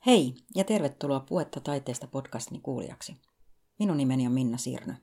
Hei ja tervetuloa Puhetta taiteesta podcastini kuulijaksi. Minun nimeni on Minna Sirnö.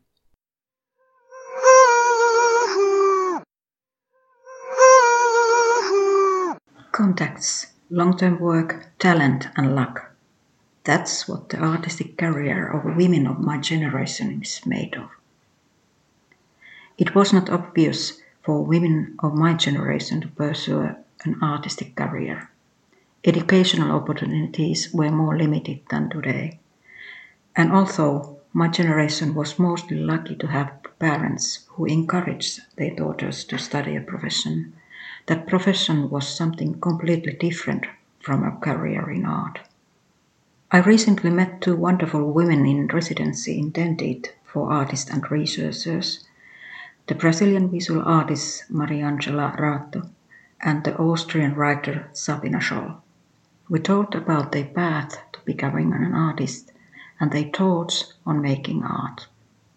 Contacts, long-term work, talent and luck. That's what the artistic career of women of my generation is made of. It was not obvious for women of my generation to pursue an artistic career. Educational opportunities were more limited than today. And although my generation was mostly lucky to have parents who encouraged their daughters to study a profession, that profession was something completely different from a career in art. I recently met two wonderful women in residency intended for artists and researchers, the Brazilian visual artist Mariangela Rato and the Austrian writer Sabina Scholl. We talked about their path to becoming an artist and their thoughts on making art.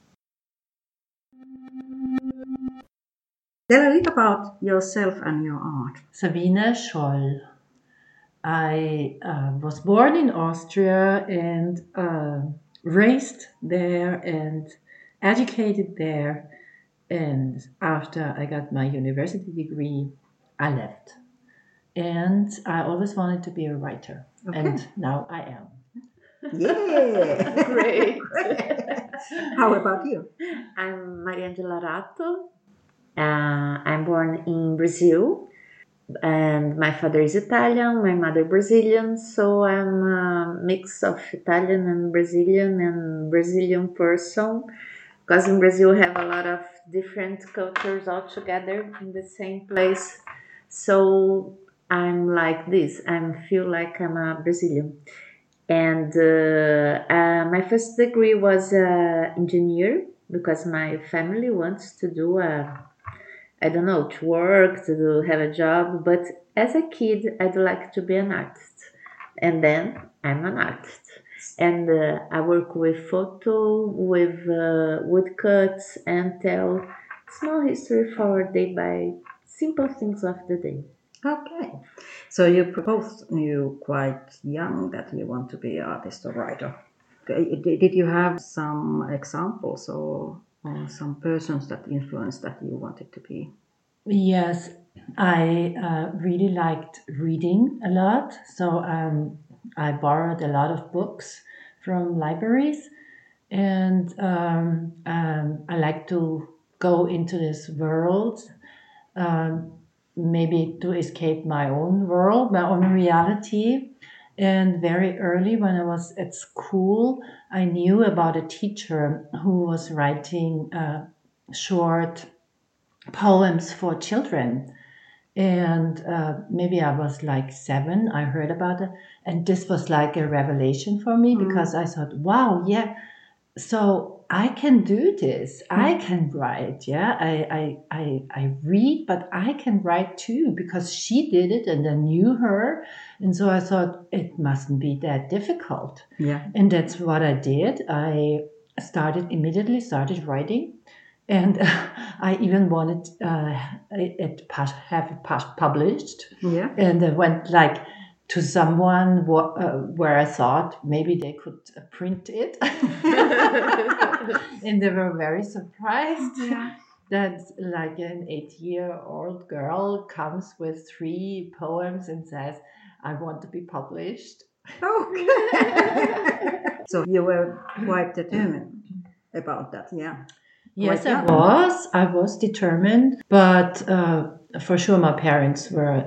Tell a little about yourself and your art. Sabina Scholl. I was born in Austria and raised there and educated there. And after I got my university degree, I left. And I always wanted to be a writer. Okay. And now I am. Yeah! Great. How about you? I'm Mariangela Rato. I'm born in Brazil. And my father is Italian, my mother Brazilian, so I'm a mix of Italian and Brazilian person, because in Brazil we have a lot of different cultures all together in the same place. So I'm like this. I feel like I'm a Brazilian. And my first degree was engineer, because my family wants to do to work, to have a job. But as a kid, I'd like to be an artist. And then I'm an artist. And I work with photo, with woodcuts, and tell small history for day by simple things of the day. Okay. So you both knew quite young that you want to be an artist or writer. Did you have some examples or some persons that influenced that you wanted to be? Yes, I really liked reading a lot. So I borrowed a lot of books from libraries. And I like to go into this world, maybe to escape my own world, my own reality. And very early when I was at school, I knew about a teacher who was writing short poems for children. And maybe I was like 7, I heard about it. And this was like a revelation for me, because I thought, wow, yeah, so I can do this. I can write. Yeah, I read, but I can write too, because she did it and I knew her. And so I thought it mustn't be that difficult. Yeah. And that's what I did. I immediately started writing. And I even wanted have it published. Yeah. And I went like to someone where I thought maybe they could print it. And they were very surprised that like an 8-year-old girl comes with 3 poems and says, I want to be published. Okay. So you were quite determined about that, yeah. Yes, I was determined, but for sure my parents were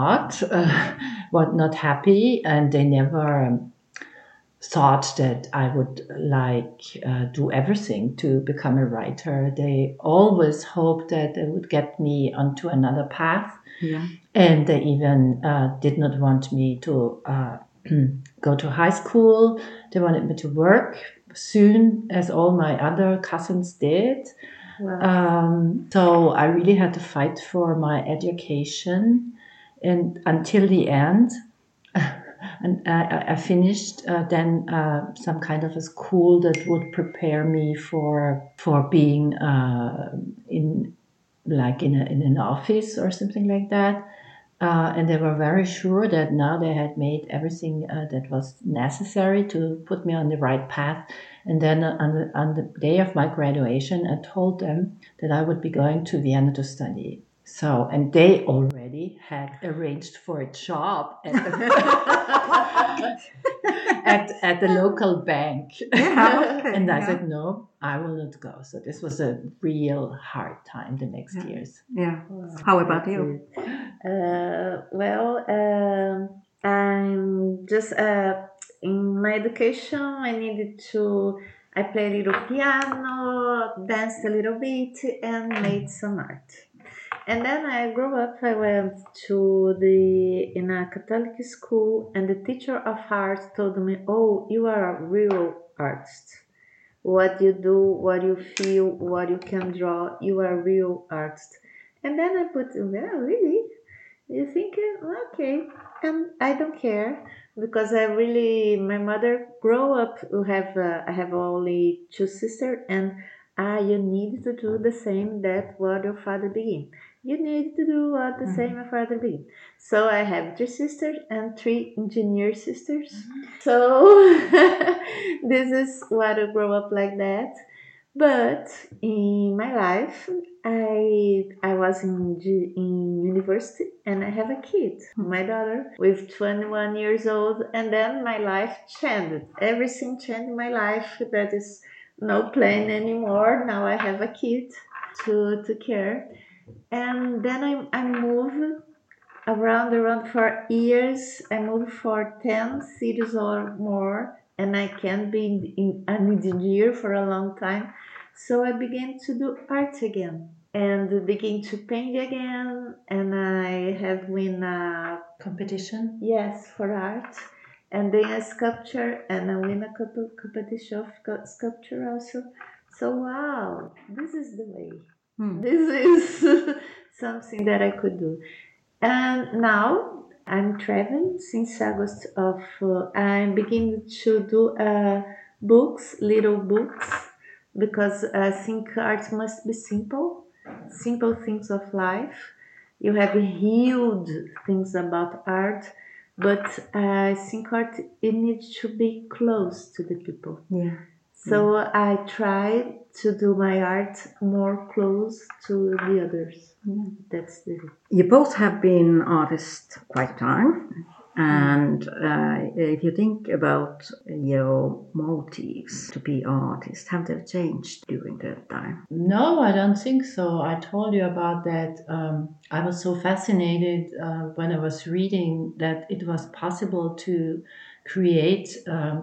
not happy, and they never thought that I would do everything to become a writer. They always hoped that they would get me onto another path. Yeah. And they even did not want me to go to high school. They wanted me to work soon, as all my other cousins did. Wow. So I really had to fight for my education, and until the end. And I finished then some kind of a school that would prepare me for being in an office or something like that. And they were very sure that now they had made everything that was necessary to put me on the right path. And then on the day of my graduation, I told them that I would be going to Vienna to study. So, and they already had arranged for a job at the, at the local bank. Yeah, okay, And I yeah. said, no, I will not go. So this was a real hard time the next Yeah. years. Yeah. How about you? I'm just in my education. I play a little piano, danced a little bit, and made some art. And then I grew up. I went in a Catholic school, and the teacher of art told me, "Oh, you are a real artist. What you do, what you feel, what you can draw, you are a real artist." And then I put, well, really? You think, okay, and I don't care because my mother grew up. I have only two sisters, and you need to do the same that what your father began. You need to do what the same your father began. So I have three sisters and three engineer sisters. So this is what I grew up like that. But in my life, I was in university and I have a kid, my daughter, with 21 years old, and then my life changed. Everything changed in my life. That is no plan anymore. Now I have a kid to care, and then I moved around for years. I moved for 10 cities or more, and I can't be in an engineer for a long time. So I began to do art again and begin to paint again. And I have win a Competition? yes for art, and then a sculpture, and I win a couple competition of sculpture also. So wow, this is the way. This is something that I could do. And now I'm traveling since August of. I'm beginning to do books, little books, because I think art must be simple, simple things of life. You have huge things about art, but I think art it needs to be close to the people. Yeah. So I try to do my art more close to the others. That's the You both have been artists quite a time. And if you think about your motives to be artist, have they changed during that time? No, I don't think so. I told you about that. I was so fascinated when I was reading that it was possible to create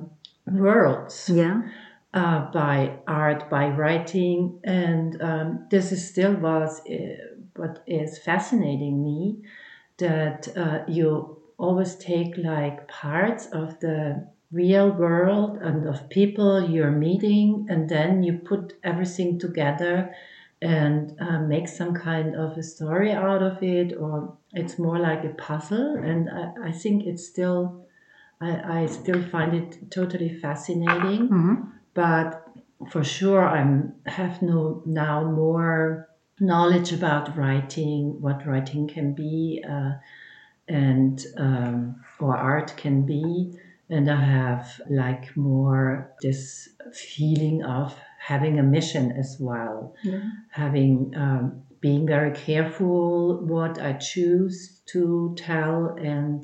worlds Yeah. by art, by writing, and this is still was what is fascinating me, that you always take like parts of the real world and of people you're meeting, and then you put everything together and make some kind of a story out of it, or it's more like a puzzle. And I think it's still, I still find it totally fascinating. But for sure, have no now more knowledge about writing, what writing can be, and or art can be, and I have like more this feeling of having a mission as well, having being very careful what I choose to tell, and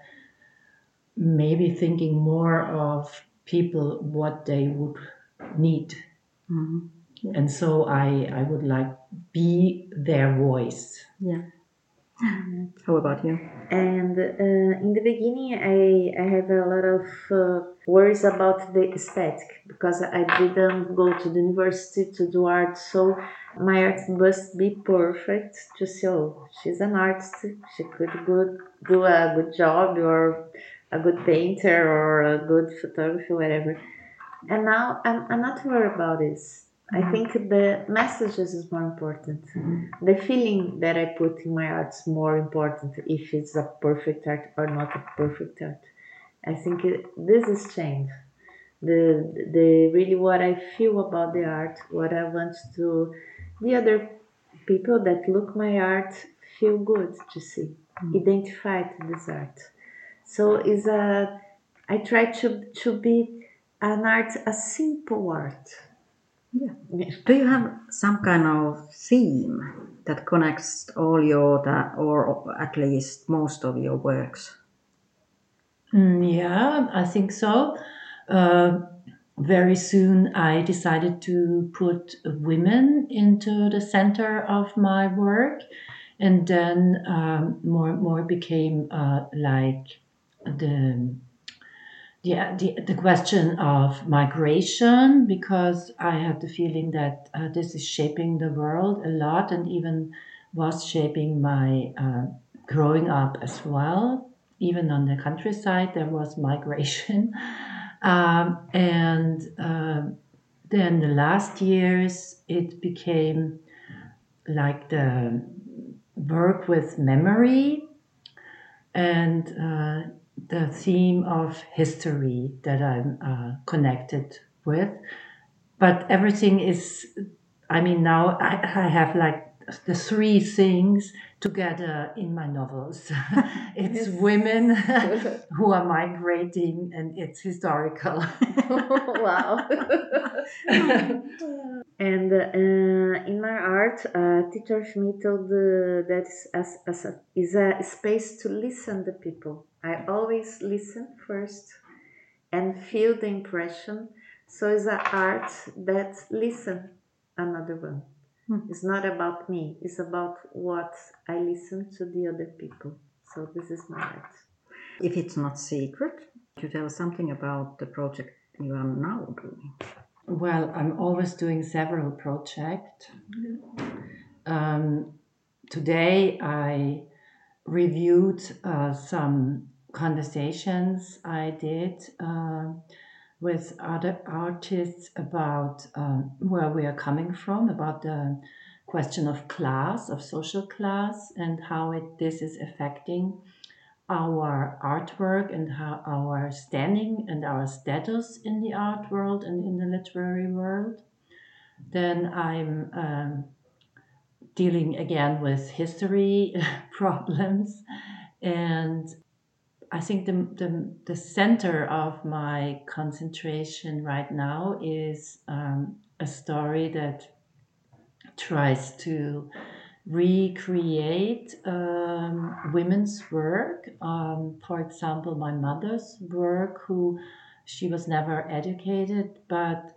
maybe thinking more of people what they would need. And so I would like be their voice. Yeah. How about you? And in the beginning, I have a lot of worries about the aesthetic because I didn't go to the university to do art. So my art must be perfect to say, oh, she's an artist. She could do a good job, or a good painter, or a good photographer, whatever. And now I'm not worried about this. I think the messages is more important. The feeling that I put in my art is more important if it's a perfect art or not a perfect art. I think this is change. The really what I feel about the art, what I want to the other people that look my art feel good to see. identified this art. So I try to be an art, a simple art. Yeah. Do you have some kind of theme that connects all or at least most of your works? Yeah, I think so. Very soon, I decided to put women into the center of my work, and then more became like the the question of migration, because I had the feeling that this is shaping the world a lot, and even was shaping my growing up as well. Even on the countryside, there was migration. And then the last years, it became like the work with memory and the theme of history that I'm connected with. But everything is, I mean, now I have like the three things together in my novels. It's Yes. women who are migrating, and it's historical. Wow. And in my art, teacher of me told that is a space to listen to people. I always listen first and feel the impression. So it's an art that listen another one. It's not about me. It's about what I listen to the other people. So this is my art. If it's not secret, could you tell something about the project you are now doing? Well, I'm always doing several projects. Today, I reviewed some conversations I did with other artists about where we are coming from, about the question of class, of social class, and how this is affecting our artwork and how our standing and our status in the art world and in the literary world. Then I'm dealing again with history problems. And I think the center of my concentration right now is a story that tries to recreate women's work. For example, my mother's work, who she was never educated, but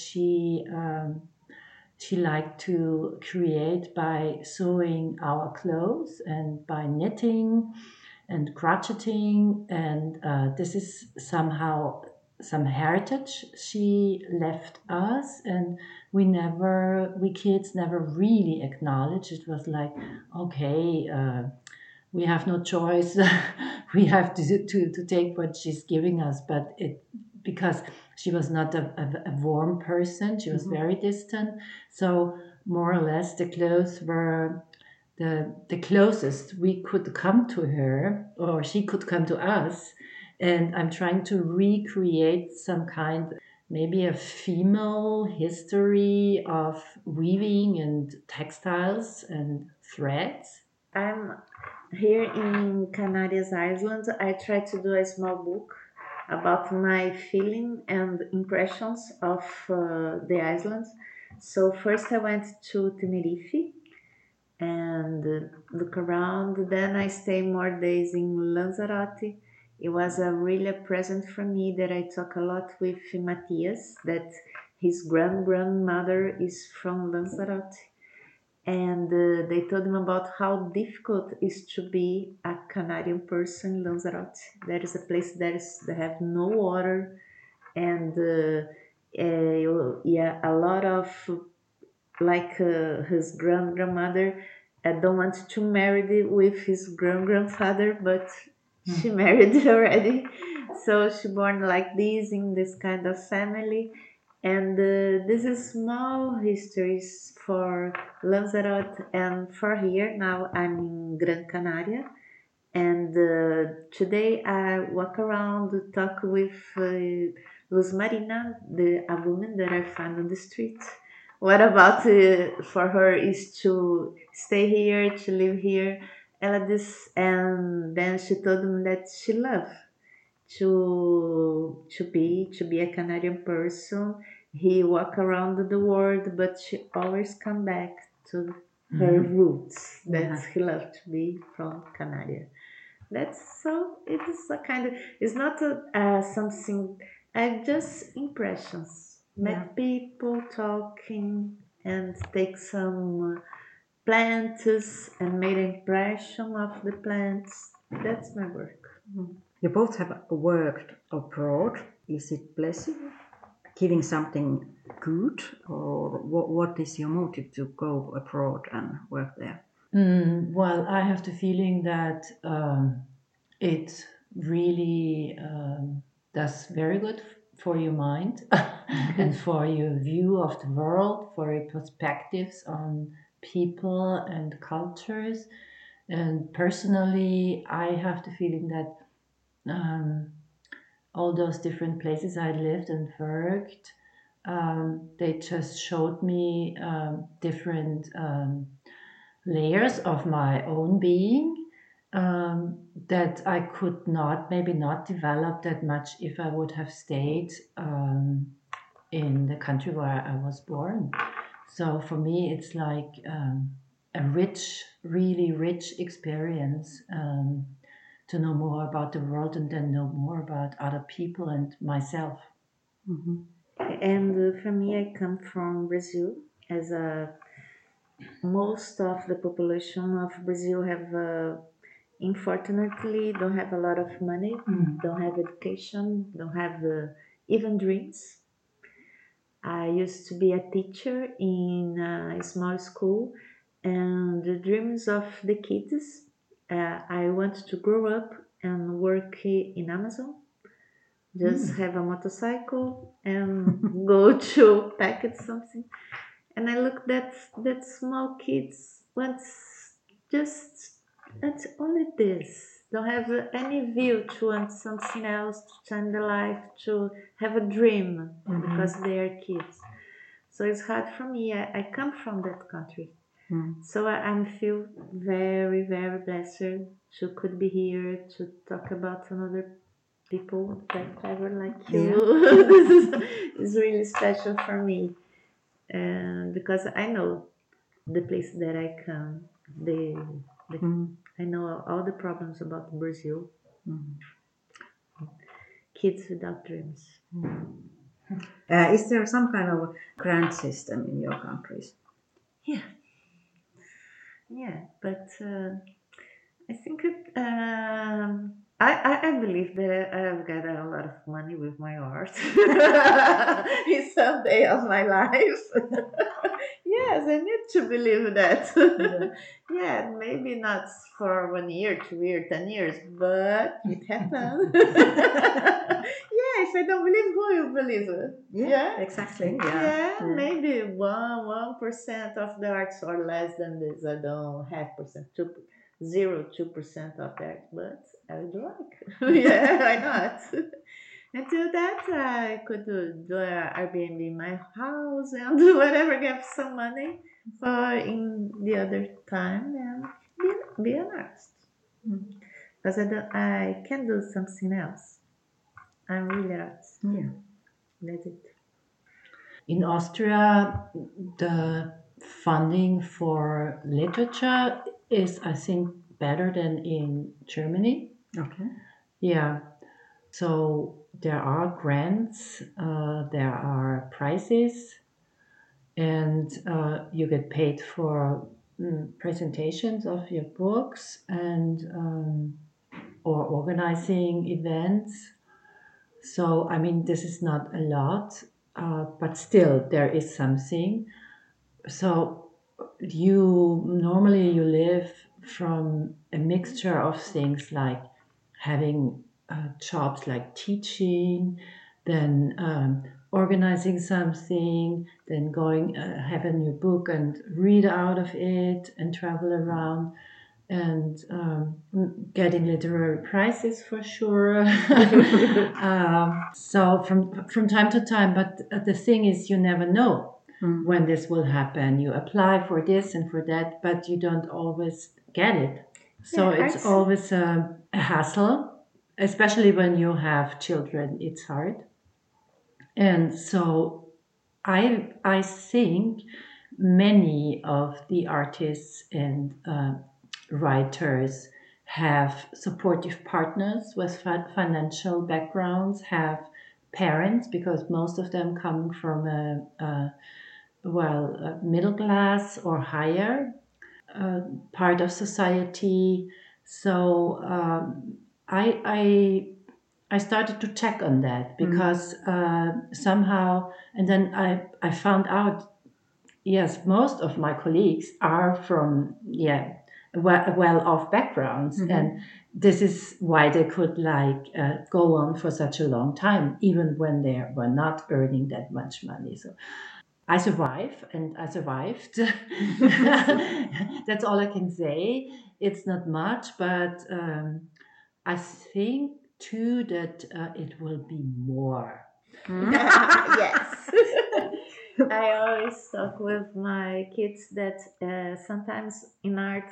she liked to create by sewing our clothes and by knitting and crocheting, and this is somehow some heritage she left us, and we kids never really acknowledged. It was like, okay, we have no choice. We have to take what she's giving us, but it because she was not a warm person, she was very distant. So more or less the clothes were the closest we could come to her, or she could come to us. And I'm trying to recreate some kind, maybe a female history of weaving and textiles and threads. I'm here in Canarias Island. I try to do a small book about my feeling and impressions of the islands. So first I went to Tenerife and look around. Then I stay more days in Lanzarote. It was a really a present for me that I talk a lot with Matias, that his grandmother is from Lanzarote, and they told him about how difficult it is to be a Canadian person in Lanzarote. There is a place that have no water, and yeah, a lot of like his grandmother don't want to marry with his grandfather, but she married already, so she born like this in this kind of family. And this is small histories for Lanzarote and for here. Now I'm in Gran Canaria, and today I walk around, talk with Luz Marina, a woman that I found on the street. What about for her is to stay here, to live here, and then she told me that she loved to be a Canadian person. He walk around the world, but she always come back to her roots. That's he loved to be from Canada. That's so. It is a kind of. It's not something. Just impressions. Met people talking and take some plants and made an impression of the plants. That's my work. You both have worked abroad. Is it blessing, giving something good, or what is your motive to go abroad and work there? Well, I have the feeling that it really does very good for your mind and for your view of the world, for your perspectives on people and cultures. And personally, I have the feeling that all those different places I lived and worked, they just showed me different layers of my own being that I could maybe not develop that much if I would have stayed in the country where I was born. So for me, it's like a rich, really rich experience to know more about the world and then know more about other people and myself. And for me, I come from Brazil. As most of the population of Brazil have, unfortunately, don't have a lot of money, don't have education, don't have even dreams. I used to be a teacher in a small school, and the dreams of the kids, I want to grow up and work in Amazon, just have a motorcycle and go to packet something. And I looked at that small kids wants just that's only this. Don't have any view to want something else, to change their life, to have a dream because they are kids. So it's hard for me. I come from that country. So I feel very, very blessed to could be here to talk about another people that clever like you. This is really special for me. And because I know the place that I come, I know all the problems about Brazil. Kids without dreams. Is there some kind of grant system in your countries? Yeah, but I think I believe that I've got a lot of money with my art in some day of my life. Yes, I need to believe that. Yeah, maybe not for 1 year, 2 years, 10 years, but it happened. Yeah, if I don't believe, who will believe it? Yeah, exactly. Yeah, maybe 1% of the arts or less than this. I don't have percent, 2% of that, but I would like. Yeah, why not? Until that, I could do a Airbnb in my house and do whatever, get some money for in the other time and be an artist. Because I can do something else. I'm really artist. Yeah. That's it. In Austria, the funding for literature is, I think, better than in Germany. Okay. Yeah. So there are grants, there are prizes, and you get paid for presentations of your books and or organizing events. So I mean, this is not a lot, but still there is something. So you live from a mixture of things like having jobs like teaching, then organizing something, then going having your book and read out of it and travel around and getting literary prizes for sure. So from time to time, but the thing is, you never know when this will happen. You apply for this and for that, but you don't always get it. So Yeah, it's always a hassle, especially when you have children. It's hard. And so I think many of the artists and writers have supportive partners with financial backgrounds, have parents, because most of them come from a middle class or higher part of society. So I started to check on that because somehow, and then I found out, yes, most of my colleagues are from well-off backgrounds, and this is why they could go on for such a long time, even when they were not earning that much money. So I survive, and I survived. That's all I can say. It's not much, but I think too that it will be more. Yes. I always talk with my kids that sometimes in art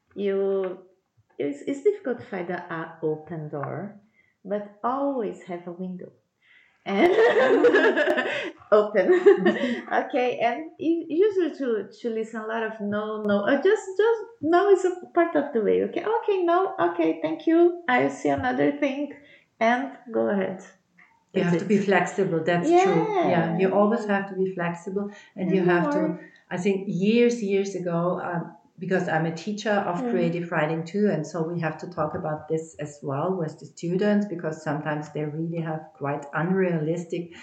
it's difficult to find an open door, but always have a window and open. Okay, and usually to listen a lot of no, just no is a part of the way. Okay, no, okay, thank you. I see another thing, and go ahead. You have to be flexible. That's true. Yeah, you always have to be flexible, and you have to. I think years ago, because I'm a teacher of creative writing too, and so we have to talk about this as well with the students, because sometimes they really have quite unrealistic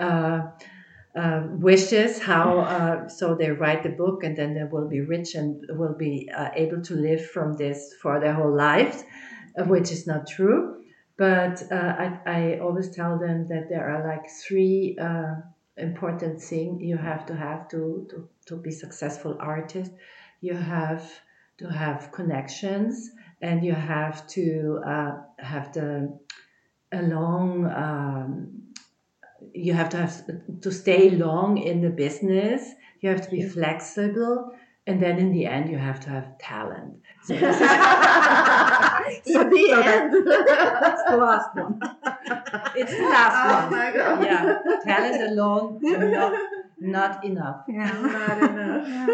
wishes. How so they write the book and then they will be rich and will be able to live from this for their whole lives, which is not true. But I always tell them that there are like three important things you have to be successful artist. You have to have connections, and you have to have a long. You have to stay long in the business. You have to be flexible, and then in the end, you have to have talent. So this is In the end. That's the last one. It's the last Oh one. my God. Yeah, talent alone not enough. Yeah. Not enough.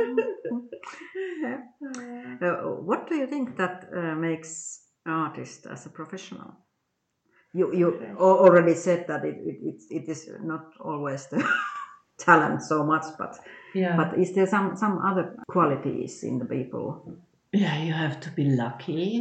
What do you think that makes artist as a professional? You already said that it is not always the talent so much, but is there some other qualities in the people? Yeah, you have to be lucky.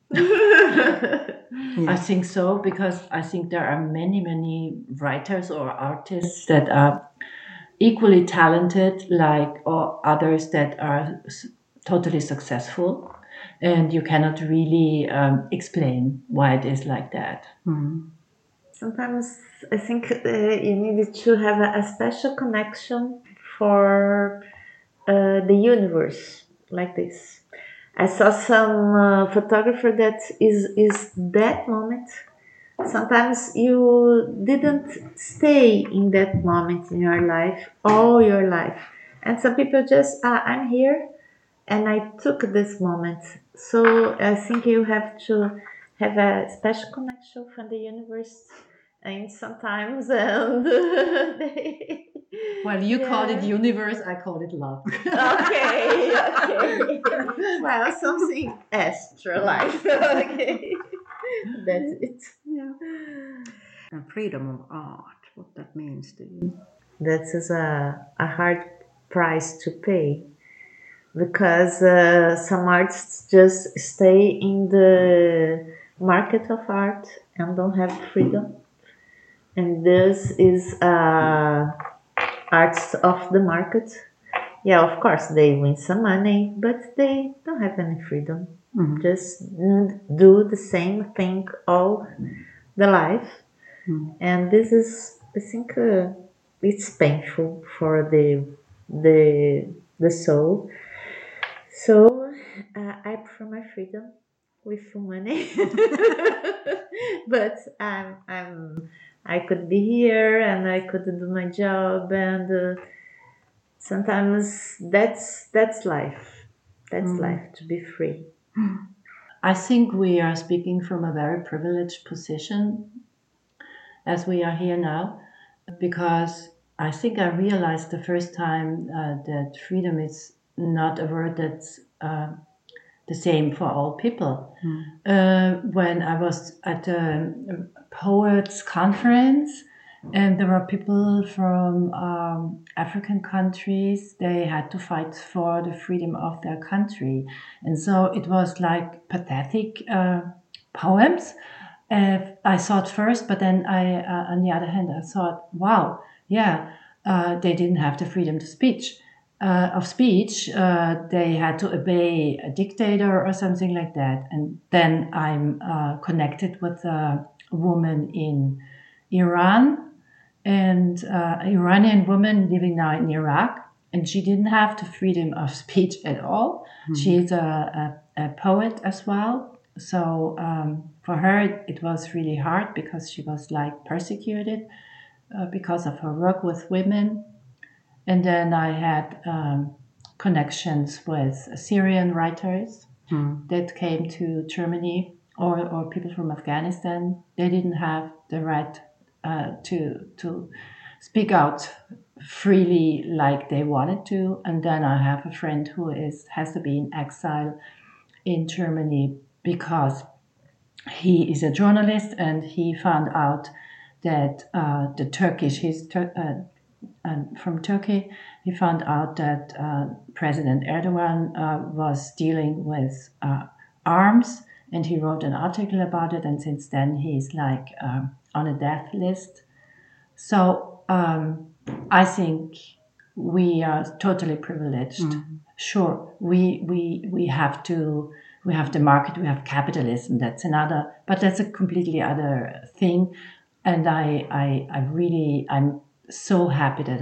I think so, because I think there are many writers or artists that are equally talented like or others that are totally successful, and you cannot really explain why it is like that. Sometimes I think you need to have a special connection for the universe like this. I saw some photographer that is that moment. Sometimes you didn't stay in that moment in your life all your life, and some people just I'm here, and I took this moment. So I think you have to have a special connection from the universe, and sometimes they, Well, you call it yeah. universe, I call it love. Okay. Well, something extra life. Okay. That's it. And freedom of art, what that means to you? That is a hard price to pay, because some artists just stay in the market of art and don't have freedom. And this is arts of the market. Yeah, of course, they win some money, but they don't have any freedom. Just do the same thing all the life. And this is, I think, it's painful for the soul. So I prefer my freedom with full money, but I could be here and I could do my job, and sometimes that's life. That's life, to be free. I think we are speaking from a very privileged position as we are here now, because I think I realized the first time that freedom is not a word that's the same for all people. When I was at a poets conference, and there were people from African countries, they had to fight for the freedom of their country. And so it was like pathetic poems. I thought first, but then on the other hand, I thought, wow, yeah, they didn't have the freedom to speech. Of speech, they had to obey a dictator or something like that. And then I'm connected with a woman in Iran, and an Iranian woman living now in Iraq, and she didn't have the freedom of speech at all. She's a poet as well. So for her, it was really hard because she was like persecuted because of her work with women. And then I had connections with Syrian writers that came to Germany, or people from Afghanistan. They didn't have the right to speak out freely like they wanted to. And then I have a friend who has to be in exile in Germany because he is a journalist, and he found out that the Turkish, from Turkey, he found out that President Erdogan was dealing with arms, and he wrote an article about it, and since then he's like on a death list. So I think we are totally privileged. Sure, we have the market, we have capitalism. That's another, but that's a completely other thing. And I'm so happy that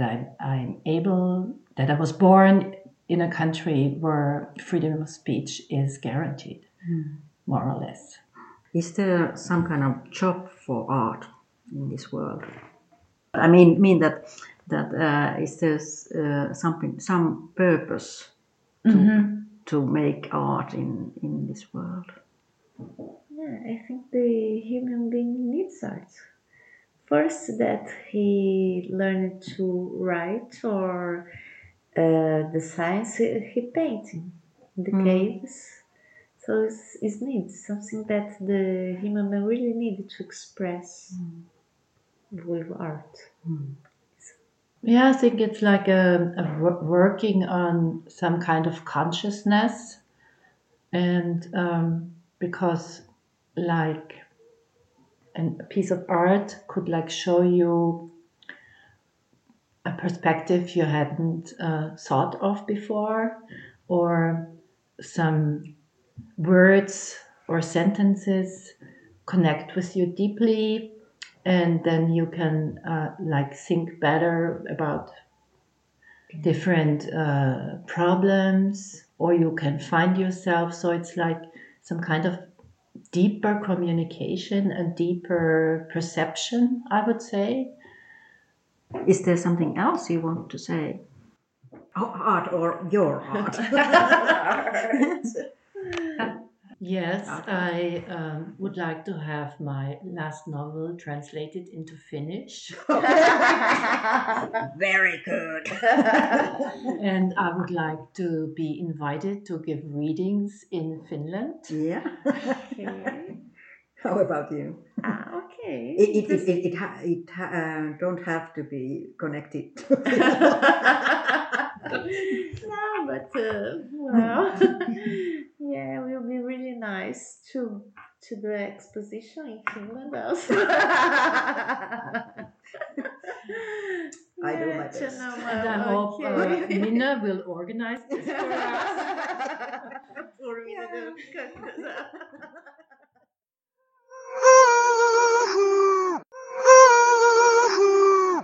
that I was born in a country where freedom of speech is guaranteed, more or less. Is there some kind of job for art in this world? I mean that is there some purpose to make art in this world? Yeah, I think the human being needs art. First, that he learned to write, or the science he painting the caves. So it's needs, something that the human being really needed to express with art. Yeah, I think it's like working on some kind of consciousness, and because like a piece of art could like show you a perspective you hadn't thought of before, or some words or sentences connect with you deeply, and then you can like think better about different problems, or you can find yourself. So it's like some kind of deeper communication and deeper perception, I would say. Is there something else you want to say? Art or your art? Yes, I would like to have my last novel translated into Finnish. Very good. And I would like to be invited to give readings in Finland. Yeah. Okay. How about you? Okay. It don't have to be connected. No, but well, yeah, it will be really nice to do an exposition in Finland also. I do my Yeah, best. And I hope Minna will organize this for us. For me to do.